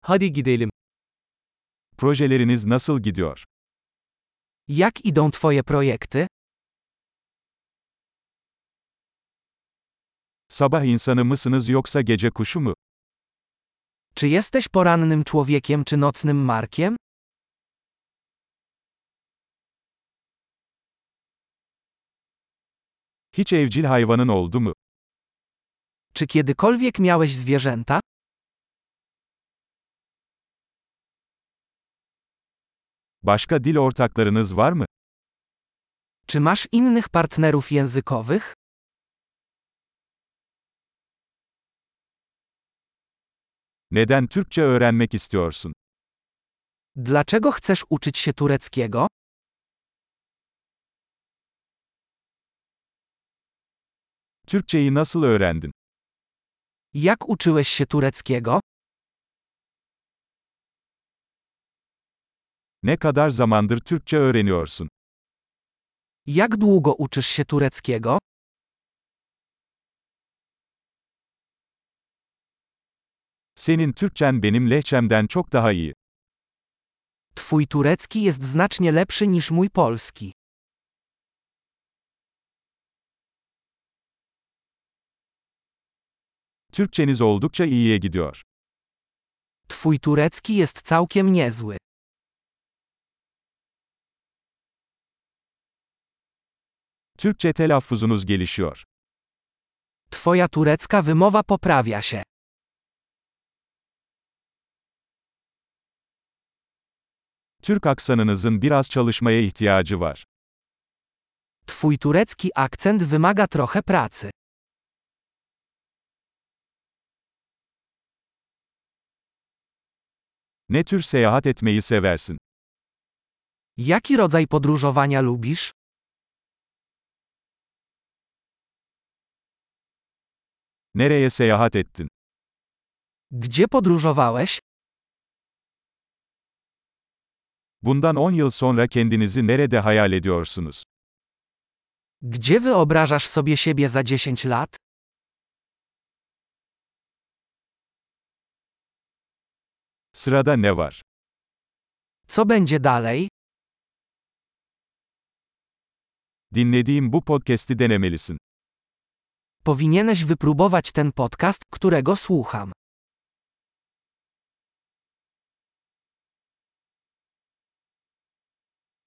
Hadi gidelim. Projeleriniz nasıl gidiyor? Jak idą twoje projekty? Sabah insanı mısınız yoksa gece kuşu mu? Czy jesteś porannym człowiekiem czy nocnym markiem? Hiç evcil hayvanın oldu mu? Czy kiedykolwiek miałeś zwierzęta? Başka dil ortaklarınız var mı? Czy masz innych partnerów językowych? Neden Türkçe öğrenmek istiyorsun? Dlaczego chcesz uczyć się tureckiego? Türkçeyi nasıl öğrendin? Jak uczyłeś się tureckiego? Ne kadar zamandır Türkçe öğreniyorsun? Jak długo uczysz się tureckiego? Senin Türkçen benim lehçemden çok daha iyi. Twój turecki jest znacznie lepszy niż mój polski. Türkçeniz oldukça iyiye gidiyor. Twój turecki jest całkiem niezły. Türkçe telaffuzunuz gelişiyor. Twoja turecka wymowa poprawia się. Türk aksanınızın biraz çalışmaya ihtiyacı var. Twój turecki akcent wymaga trochę pracy. Ne tür seyahat etmeyi seversin? Jaki rodzaj podróżowania lubisz? Nereye seyahat ettin? Gdzie podróżowałeś? Bundan 10 yıl sonra kendinizi nerede hayal ediyorsunuz? Gdzie wyobrażasz sobie siebie za 10 lat? Sırada ne var? Co będzie dalej? Dinlediğim bu podcast'i denemelisin. Powinieneś wypróbować ten podcast, którego słucham.